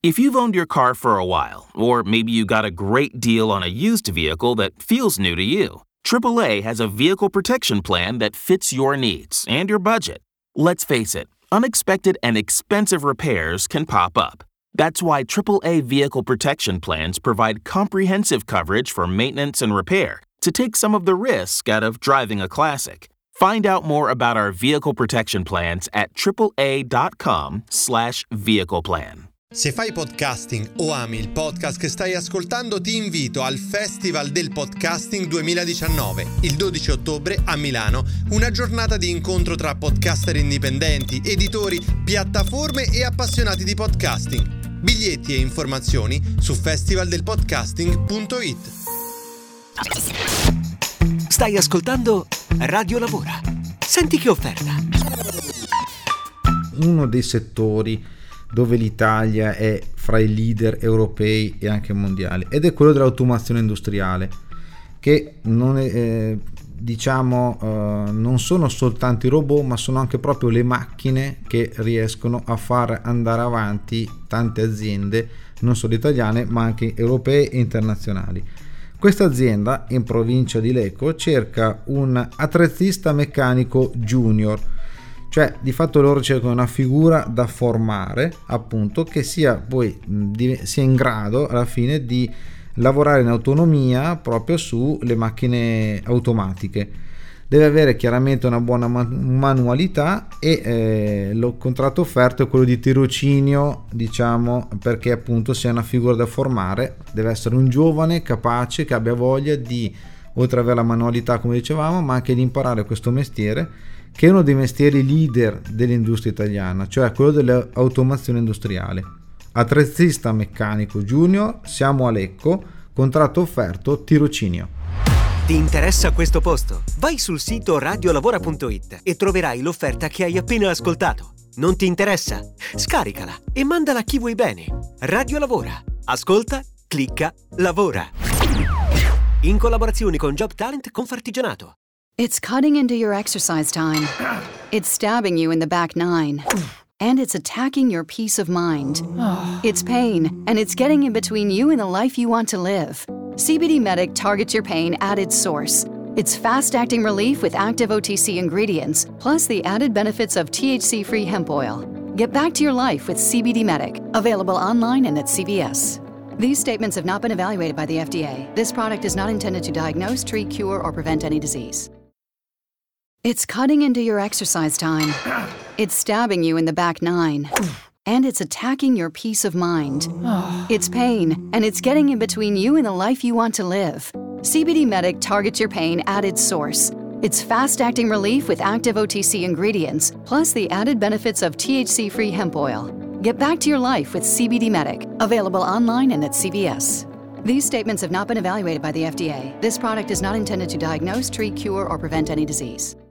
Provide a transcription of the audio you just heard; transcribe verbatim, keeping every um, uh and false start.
If you've owned your car for a while, or maybe you got a great deal on a used vehicle that feels new to you, triple A has a vehicle protection plan that fits your needs and your budget. Let's face it, unexpected and expensive repairs can pop up. That's why triple A vehicle protection plans provide comprehensive coverage for maintenance and repair to take some of the risk out of driving a classic. Find out more about our vehicle protection plans at triple A dot com slash vehicle plan. Se fai podcasting o ami il podcast che stai ascoltando, ti invito al Festival del Podcasting duemiladiciannove, il dodici ottobre a Milano, una giornata di incontro tra podcaster indipendenti, editori, piattaforme e appassionati di podcasting. Biglietti e informazioni su festival del podcasting punto it. Stai ascoltando Radio Lavora. Senti che offerta. Uno dei settori dove l'Italia è fra i leader europei e anche mondiali, ed è quello dell'automazione industriale, che non è, eh, diciamo eh, non sono soltanto i robot, ma sono anche proprio le macchine che riescono a far andare avanti tante aziende, non solo italiane ma anche europee e internazionali. Questa azienda in provincia di Lecco cerca un attrezzista meccanico junior, cioè di fatto loro cercano una figura da formare, appunto, che sia poi sia in grado alla fine di lavorare in autonomia proprio sulle macchine automatiche. Deve avere chiaramente una buona manualità e eh, il contratto offerto è quello di tirocinio, diciamo, perché appunto sia una figura da formare. Deve essere un giovane capace che abbia voglia di, oltre ad avere la manualità come dicevamo, ma anche di imparare questo mestiere, che è uno dei mestieri leader dell'industria italiana, cioè quello dell'automazione industriale. Attrezzista meccanico junior, siamo a Lecco, contratto offerto, tirocinio. Ti interessa questo posto? Vai sul sito radiolavora punto it e troverai l'offerta che hai appena ascoltato. Non ti interessa? Scaricala e mandala a chi vuoi bene. Radio Lavora. Ascolta, clicca, lavora. In collaborazione con Job Talent Confartigianato. It's cutting into your exercise time. It's stabbing you in the back nine. And it's attacking your peace of mind. It's pain, and it's getting in between you and the life you want to live. C B D Medic targets your pain at its source. It's fast-acting relief with active O T C ingredients, plus the added benefits of T H C-free hemp oil. Get back to your life with C B D Medic. Available online and at C V S. These statements have not been evaluated by the F D A. This product is not intended to diagnose, treat, cure, or prevent any disease. It's cutting into your exercise time. It's stabbing you in the back nine. And it's attacking your peace of mind. It's pain, and it's getting in between you and the life you want to live. C B D Medic targets your pain at its source. It's fast-acting relief with active O T C ingredients, plus the added benefits of T H C-free hemp oil. Get back to your life with C B D Medic. Available online and at C V S. These statements have not been evaluated by the F D A. This product is not intended to diagnose, treat, cure, or prevent any disease.